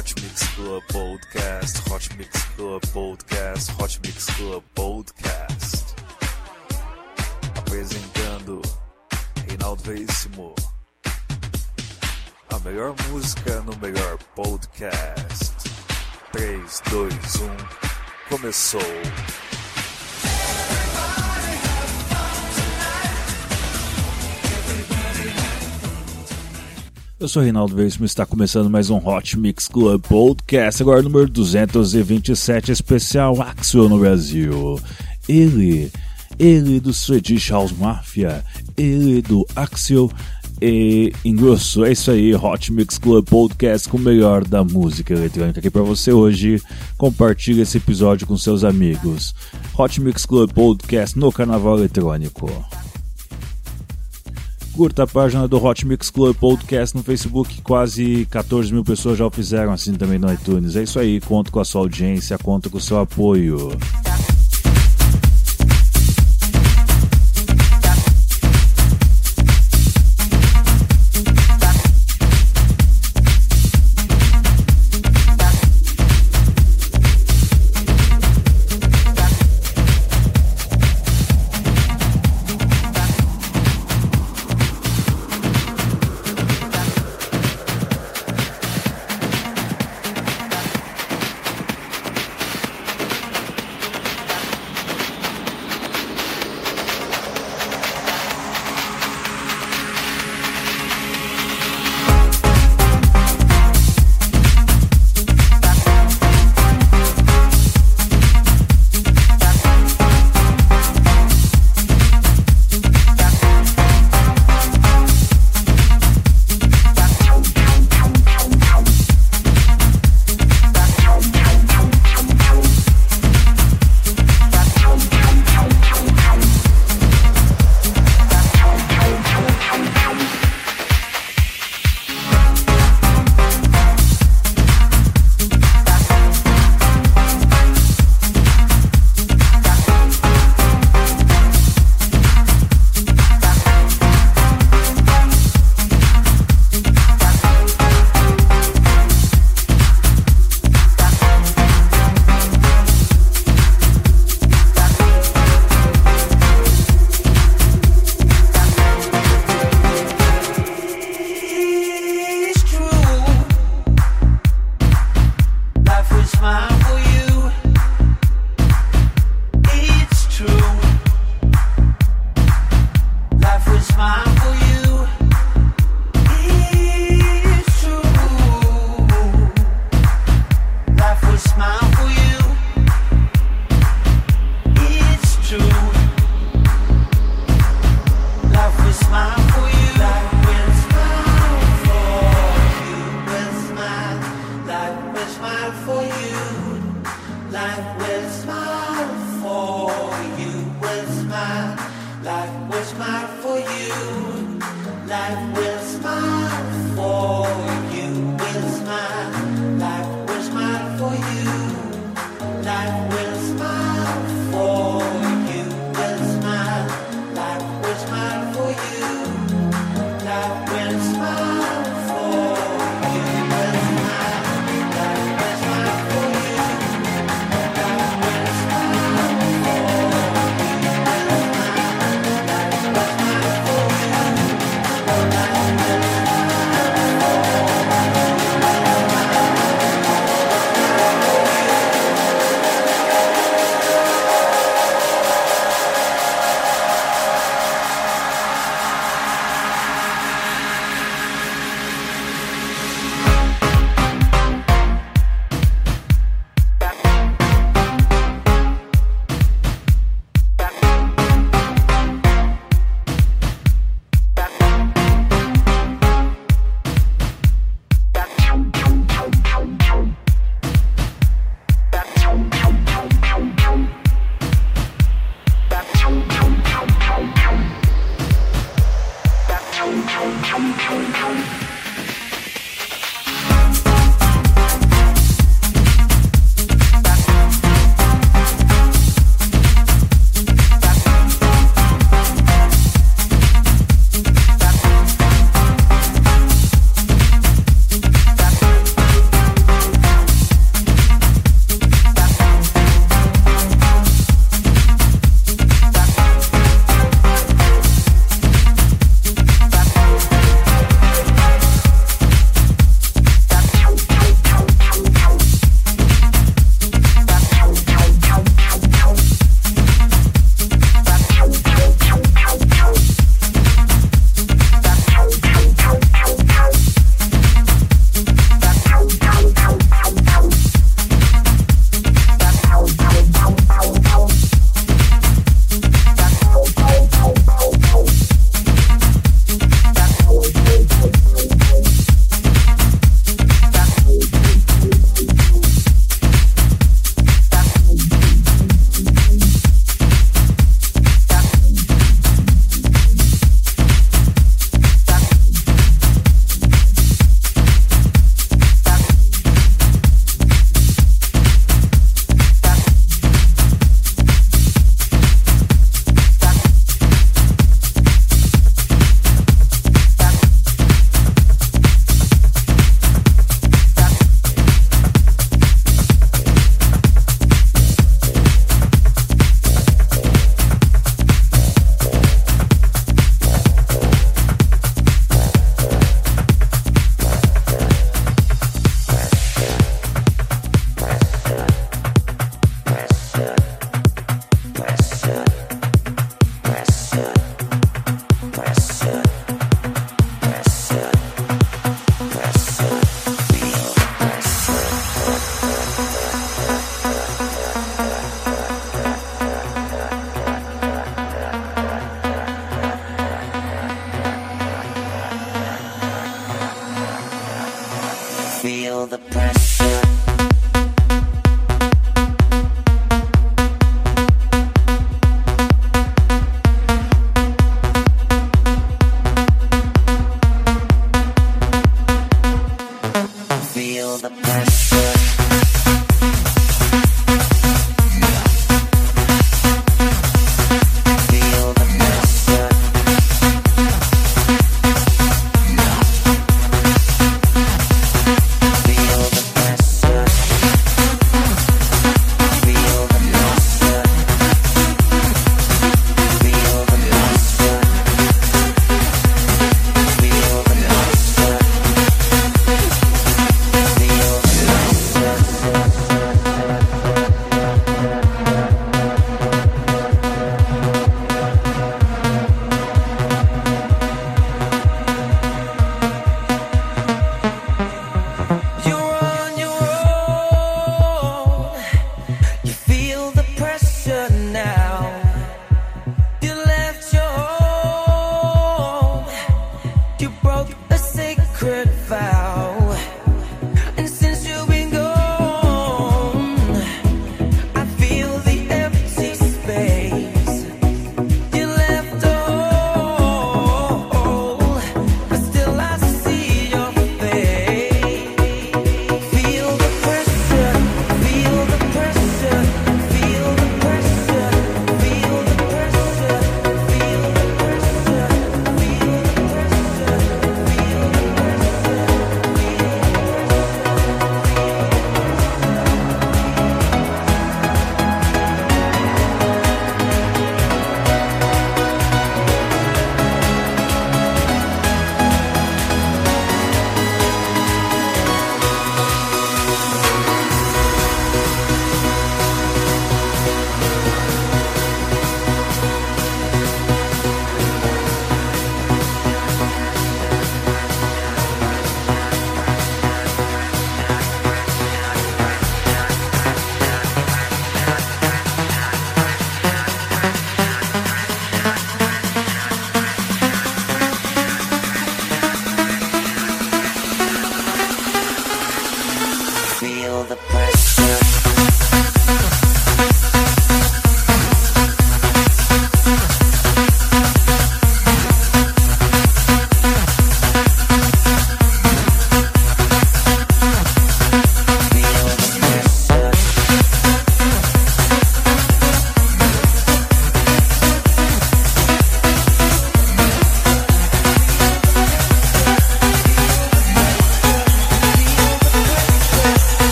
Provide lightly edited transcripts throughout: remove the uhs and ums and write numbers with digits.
Hot Mix Club Podcast, Hot Mix Club Podcast, Hot Mix Club Podcast. Apresentando Reinaldo Veríssimo. A melhor música no melhor podcast. 3, 2, 1, começou. Eu sou Reinaldo Veríssimo e está começando mais um Hot Mix Club Podcast, agora número 227, especial Axel no Brasil. Ele do Swedish House Mafia, ele do Axel e engrosso. É isso aí, Hot Mix Club Podcast com o melhor da música eletrônica aqui para você hoje. Compartilhe esse episódio com seus amigos. Hot Mix Club Podcast no Carnaval Eletrônico. Curta a página do Hot Mix Club Podcast no Facebook, quase 14 mil pessoas já o fizeram, assim também no iTunes. É isso aí, conto com a sua audiência, conto com o seu apoio.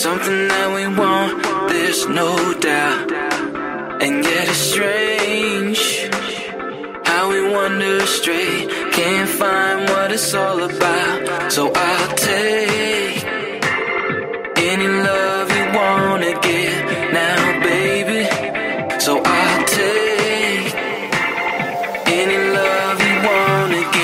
something that we want, there's no doubt. And yet it's strange how we wander astray, can't find what it's all about. So I'll take any love you wanna get now, baby. So I'll take any love you wanna get.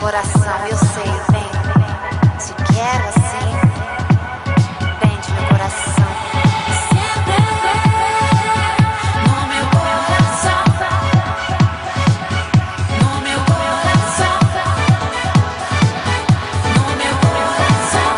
coração, eu sei, vem. Se quero assim, prende meu coração. Sempre no meu coração, no meu coração, no meu coração.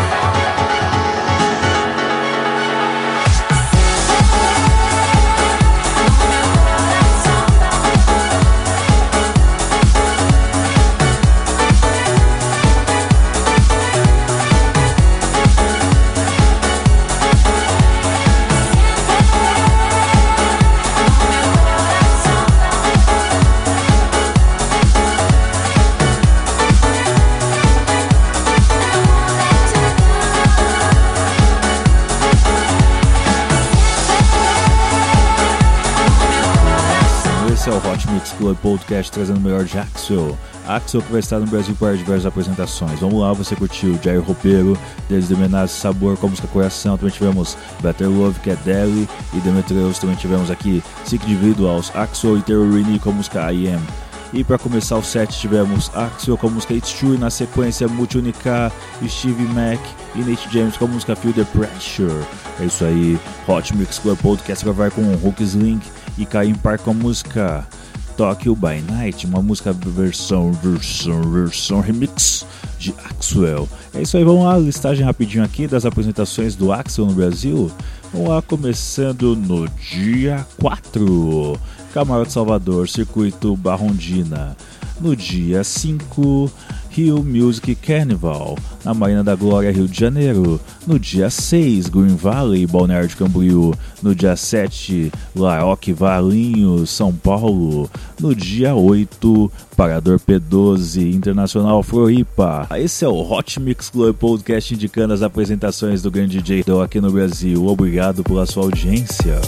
Esse é o Hot Mix Club Podcast trazendo o melhor de Axwell. Axwell que vai estar no Brasil para diversas apresentações. Vamos lá, você curtiu Jair Roupeiro, Deles Demenazes, Sabor com a música Coração. Também tivemos Better Love, que é Deli, e Demetrius. Também tivemos aqui Sick Individuals, Axwell e Terrorini com a música I Am. E para começar o set tivemos Axwell com a música It's True, e na sequência Multi-Unica, Stevie Mac e Nate James com a música Feel the Pressure. É isso aí, Hot Mix Club Podcast vai com Hooks Link e Caim Park com a música Tokyo by Night, uma música versão remix de Axwell. É isso aí, vamos lá, listagem rapidinho aqui das apresentações do Axwell no Brasil. Vamos lá, começando no dia 4, Camarote Salvador, Circuito Barrondina. No dia 5, Rio Music Carnival, na Marina da Glória, Rio de Janeiro. No dia 6, Green Valley, Balneário de Camboriú. No dia 7, Laoque Valinhos, São Paulo. No dia 8, Parador P12, Internacional Floripa. Esse é o Hot Mix Club Podcast indicando as apresentações do grande DJ Do aqui no Brasil. Obrigado pela sua audiência.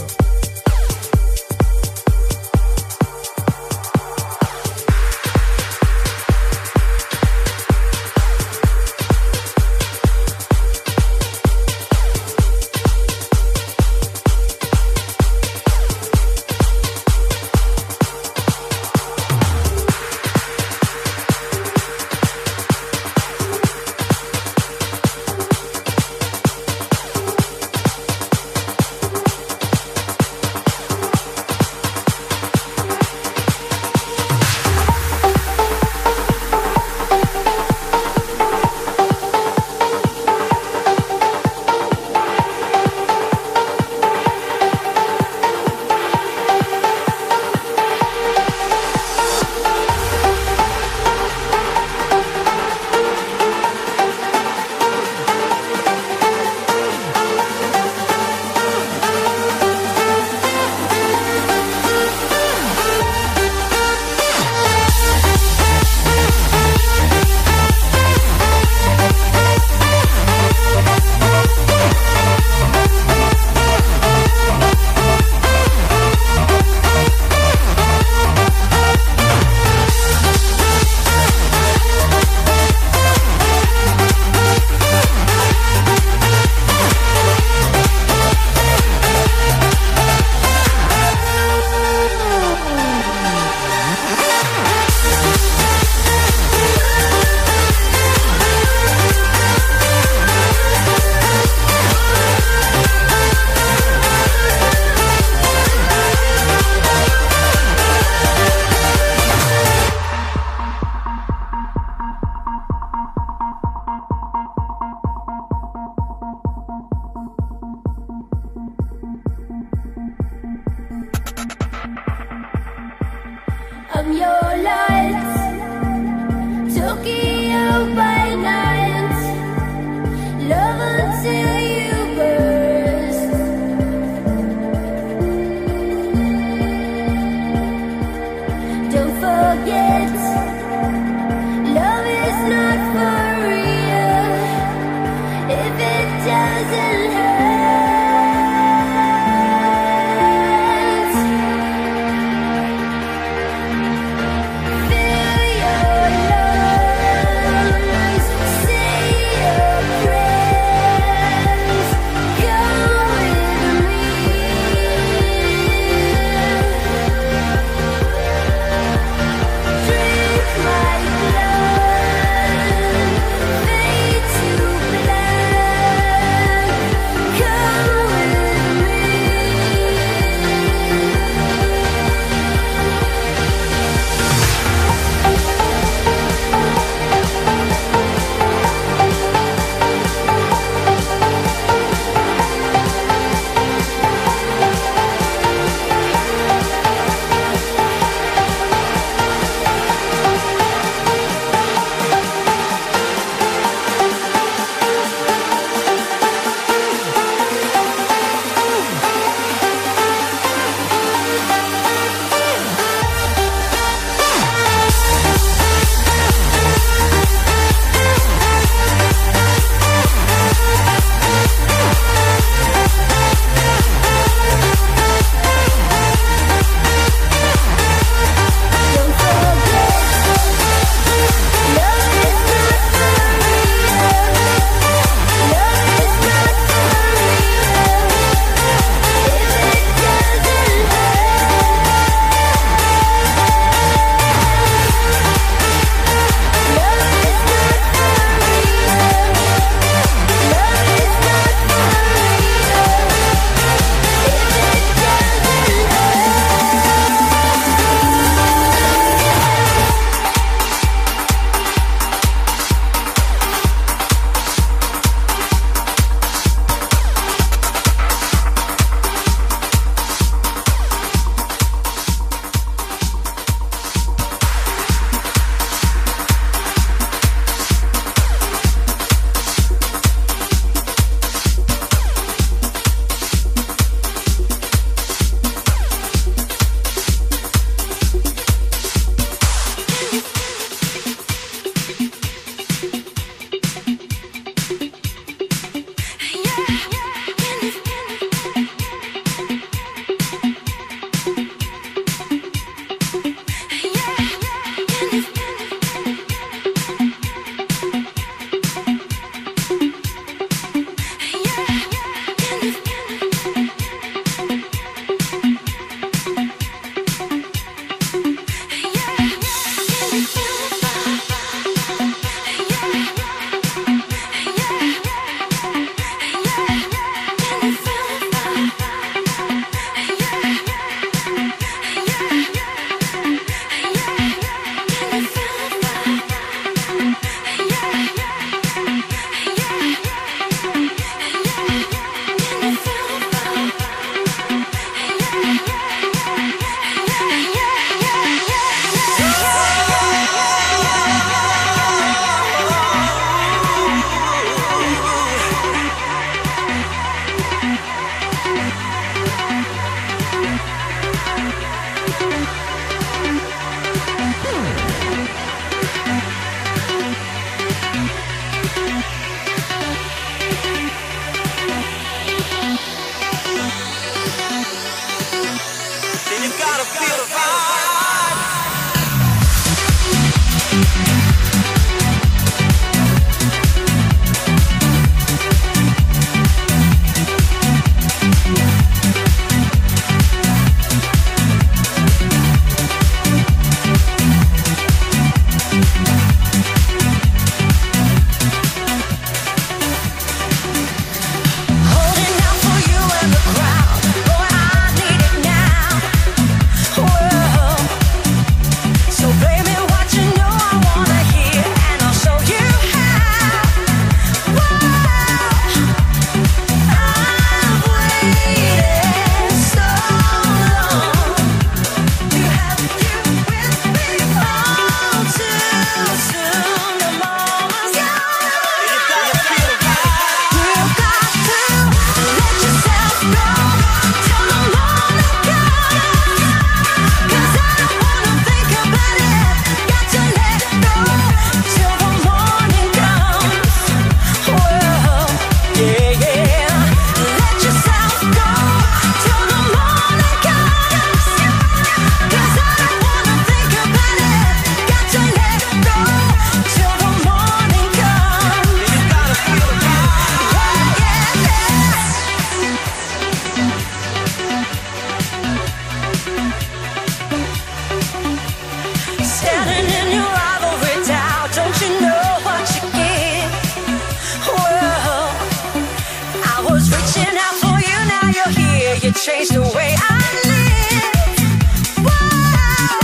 Change the way I live. Whoa,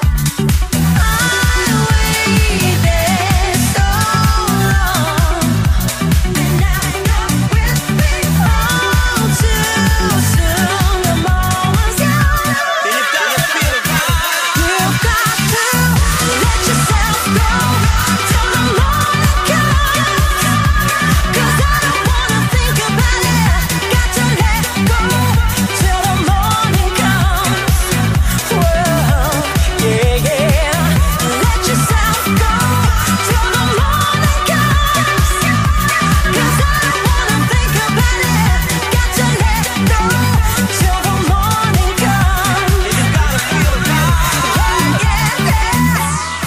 I waited so long, and now you're with me all too soon. The moment's gone. You've got to let yourself go till the morning comes. 'Cause I don't wanna think about it. Got to let go. Till the morning comes. Whoa, yeah, yeah. Let yourself go till the morning comes. 'Cause I don't wanna think about it. Got to let go till the morning comes. You gotta feel it now. Yeah, yeah.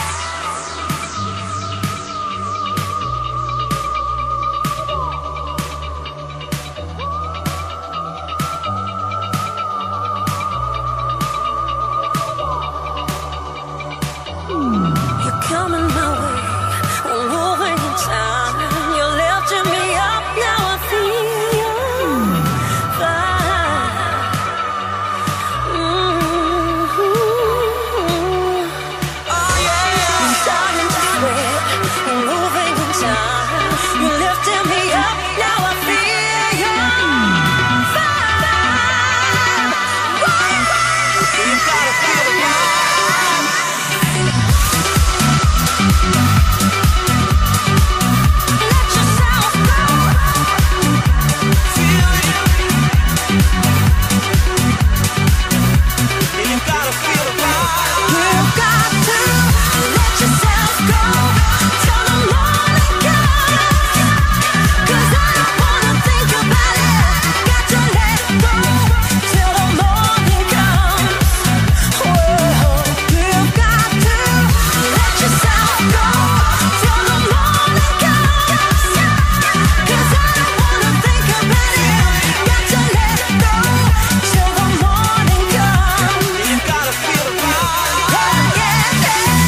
You're coming my way, we're moving in time. You're lifting me up, now I feel you fly. Oh yeah, I'm starting to sweat, we're moving in time. You're lifting me up, now I feel you fly. You gotta feel it now. Let yourself go. Feel it. You gotta feel it now. You've got to let yourself go till the morning comes. 'Cause I don't wanna think about it. Got to let go till the morning comes. Whoa, you've got to let yourself go till the morning comes. 'Cause I don't wanna think about it. Got to let go till the morning comes. You gotta feel it now. Yeah, yeah, yeah.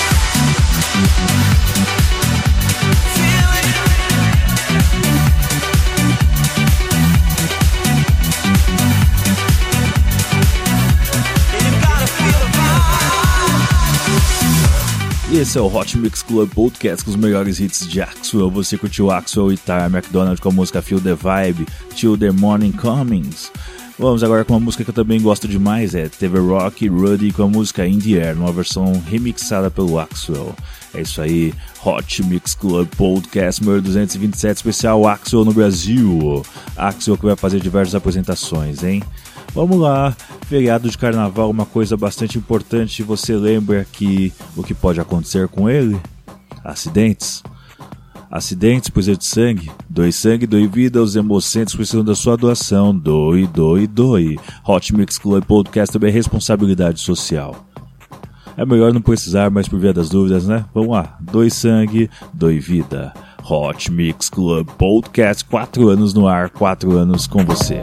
Feel it. You gotta feel it now. E esse é o Hot Mix Club Podcast com os melhores hits de Axwell. Você curtiu Axwell e Tara McDonald com a música Feel the Vibe, Till the Morning Comings. Vamos agora com uma música que eu também gosto demais, é TV Rock e Ruddy com a música In The Air, numa versão remixada pelo Axwell. É isso aí, Hot Mix Club Podcast número 227, especial Axwell no Brasil. Axwell que vai fazer diversas apresentações, hein? Vamos lá, feriado de carnaval, uma coisa bastante importante, você lembra que o que pode acontecer com ele? Acidentes. Acidentes, precisa de sangue. Doe sangue, doe vida, os hemocentros precisam da sua doação. Doe, doe, doe. Hot Mix Club Podcast também é responsabilidade social. É melhor não precisar, mas por via das dúvidas, né? Vamos lá, doe sangue, doe vida. Hot Mix Club Podcast, 4 anos no ar, 4 anos com você.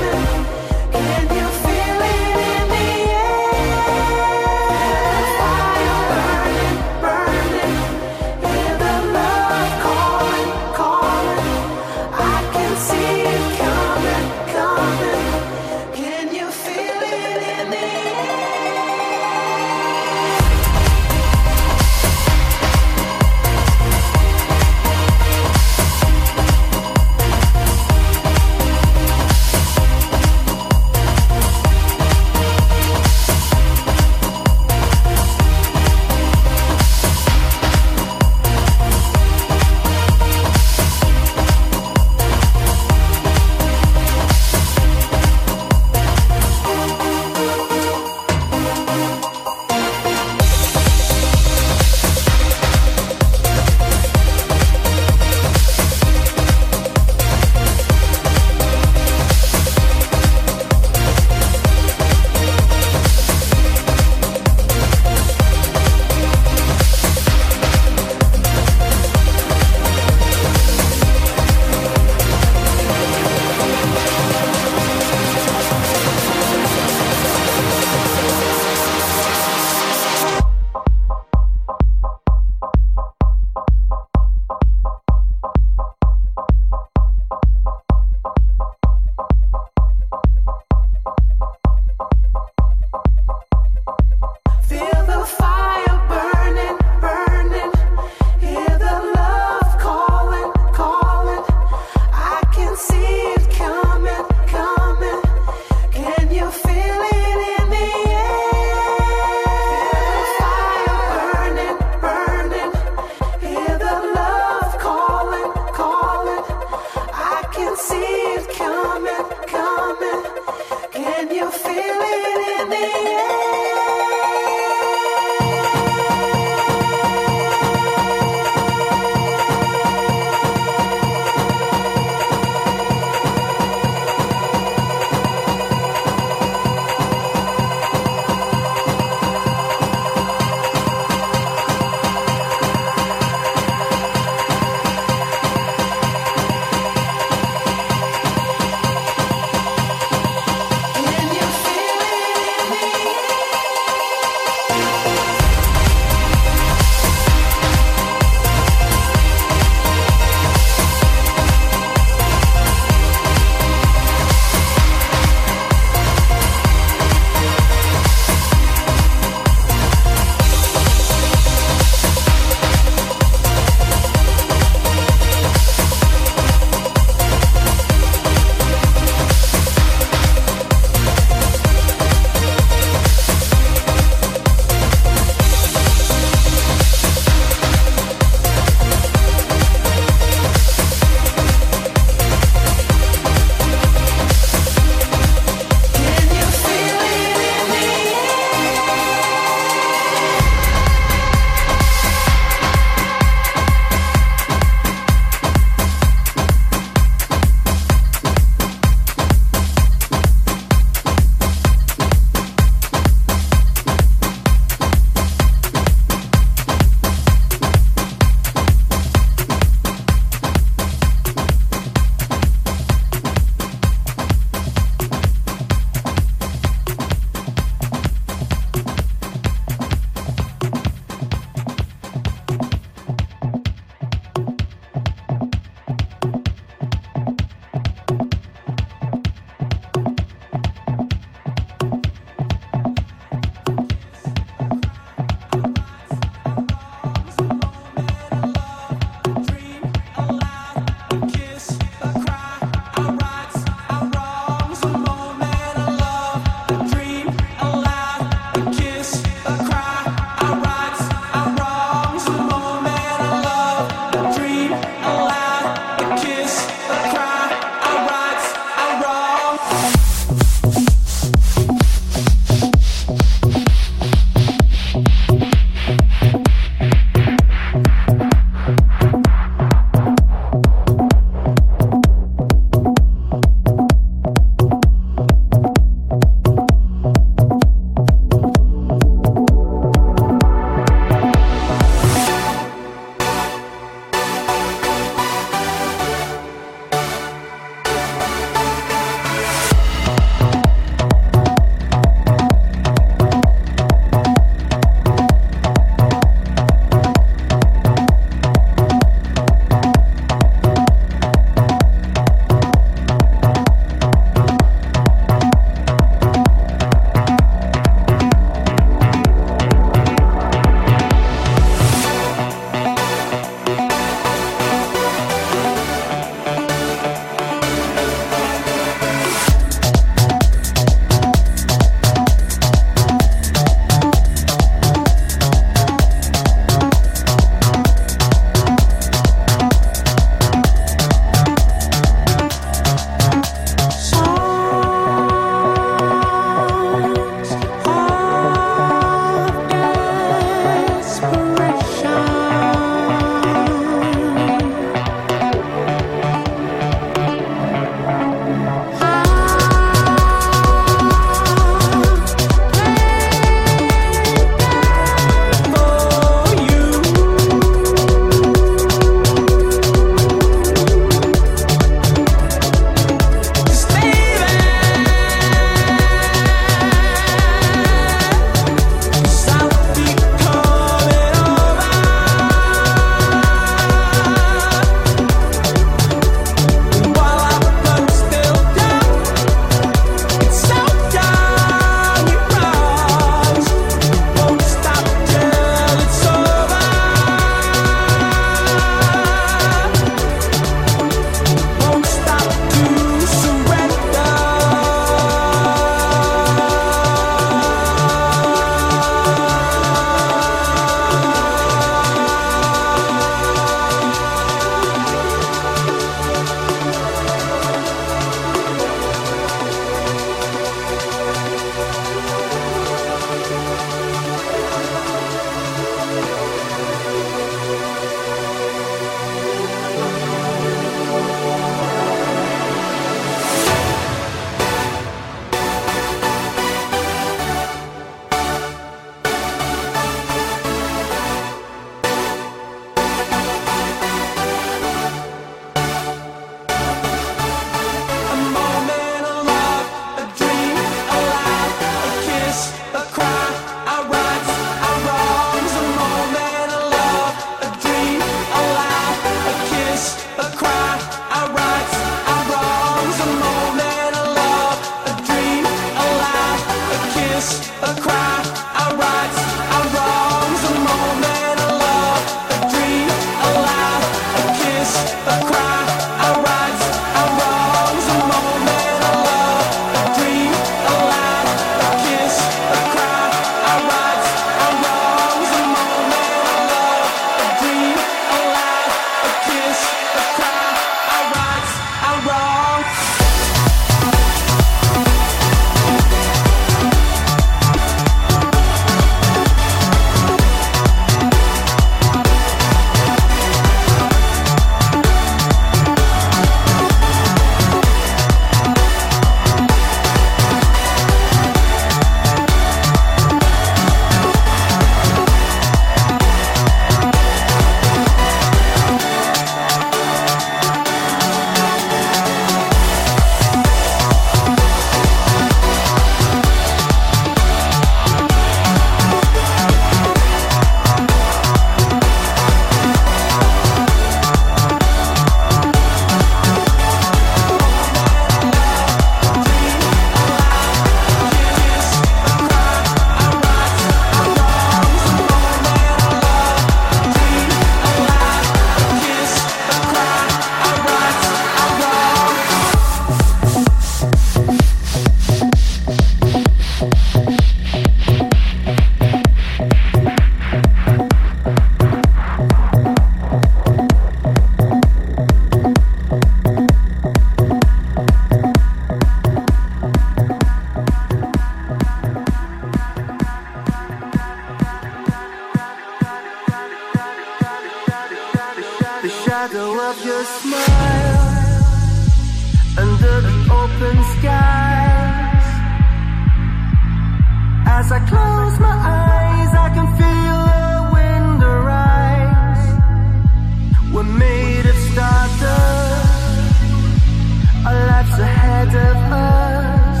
As I close my eyes, I can feel the wind arise. We're made of stardust, our lives ahead of us.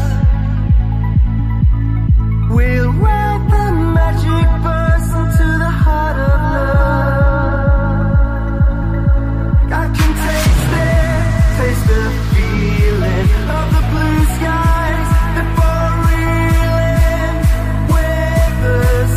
We'll ride the magic bus into the heart of love. I can taste the feeling of the blue skies before reeling with the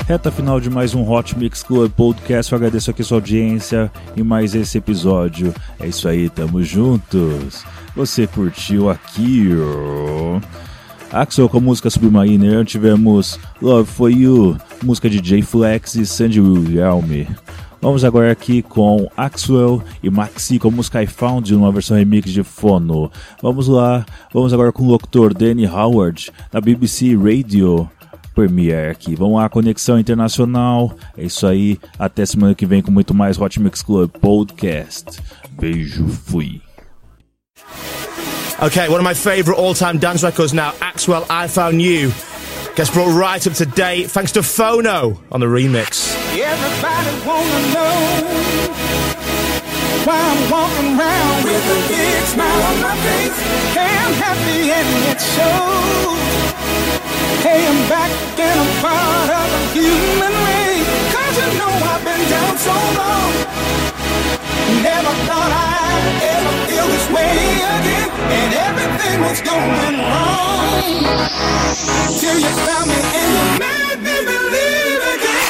Reta final de mais um Hot Mix Club Podcast. Eu agradeço aqui sua audiência em mais esse episódio. É isso aí, tamo juntos. Você curtiu aqui, ó. Axel com a música Submariner. Tivemos Love For You, música de Jay Flex e Sandy William. Vamos agora aqui com Axwell e Maxi com a música I Found You, uma versão remix de Fono. Vamos lá, vamos agora com o locutor Danny Howard, da BBC Radio Premiere aqui. Vamos lá, Conexão Internacional. É isso aí, até semana que vem com muito mais Hot Mix Club Podcast. Beijo, fui. Okay, one of my favourite all-time dance records now, Axwell, I Found You. Gets brought right up to date thanks to Phono on the remix. Everybody wanna know why I'm walking around with a big smile on my face. Hey, I'm happy and it shows. Hey, I'm back and I'm part of the human race. 'Cause you know I've been down so long. Never thought I'd ever feel this way again. And everything was going wrong till you found me and you made me believe again.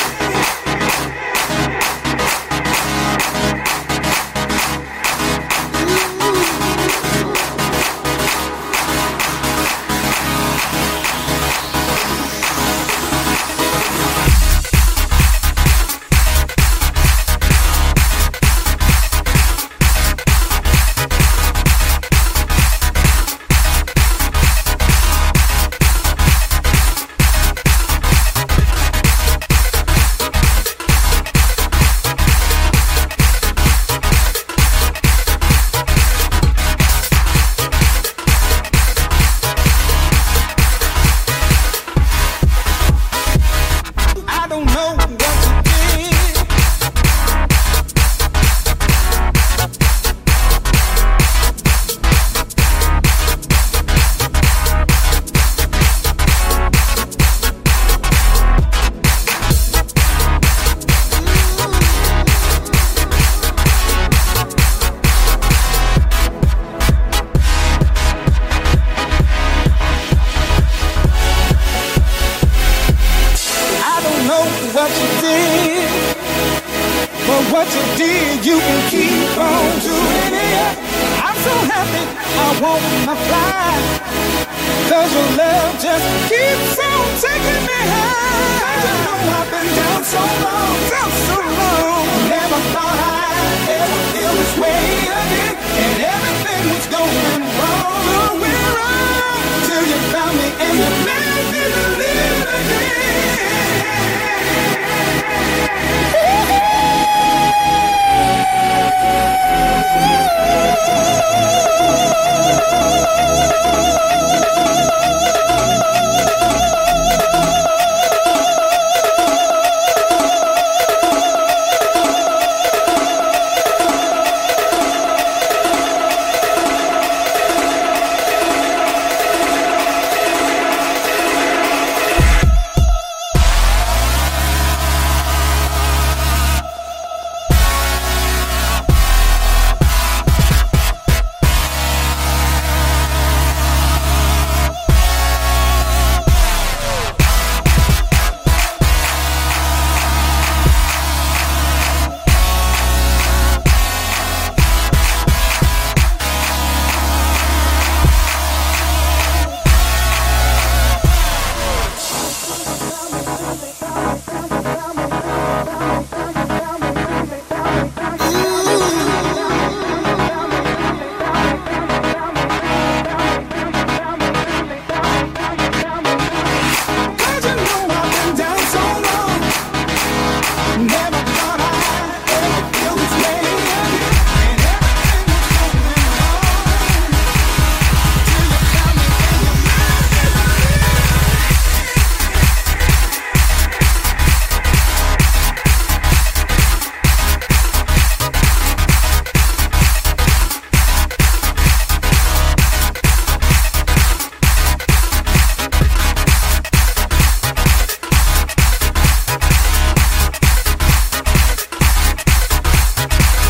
What you did, you can keep on doing it. I'm so happy, I wanna fly. 'Cause your love just keeps on taking me high. You know I've been down so long, Never thought I'd ever feel this way again. And everything was going wrong, till you found me and you made me believe again.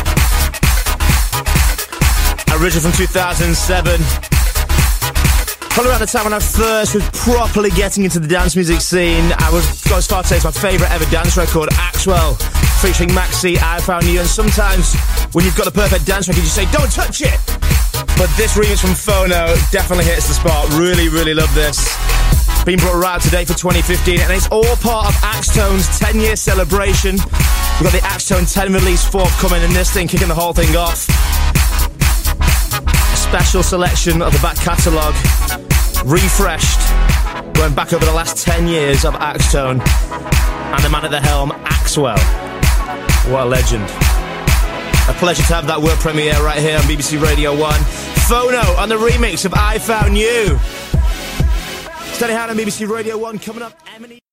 Original from 2007. Probably around the time when I first was properly getting into the dance music scene, I was going to start to say it's my favourite ever dance record, Axwell, featuring Maxi, I Found You. And sometimes when you've got the perfect dance record, you say, don't touch it! But this remix from Phono definitely hits the spot. Really, really love this. Being brought right today for 2015, and it's all part of Axtone's 10-year celebration. We've got the Axtone 10 release forthcoming, and this thing kicking the whole thing off. A special selection of the back catalogue, refreshed, going back over the last 10 years of Axtone, and the man at the helm, Axwell. What a legend. A pleasure to have that world premiere right here on BBC Radio 1. Phono on the remix of I Found You. Steady Hand on BBC Radio 1 coming up. Emily.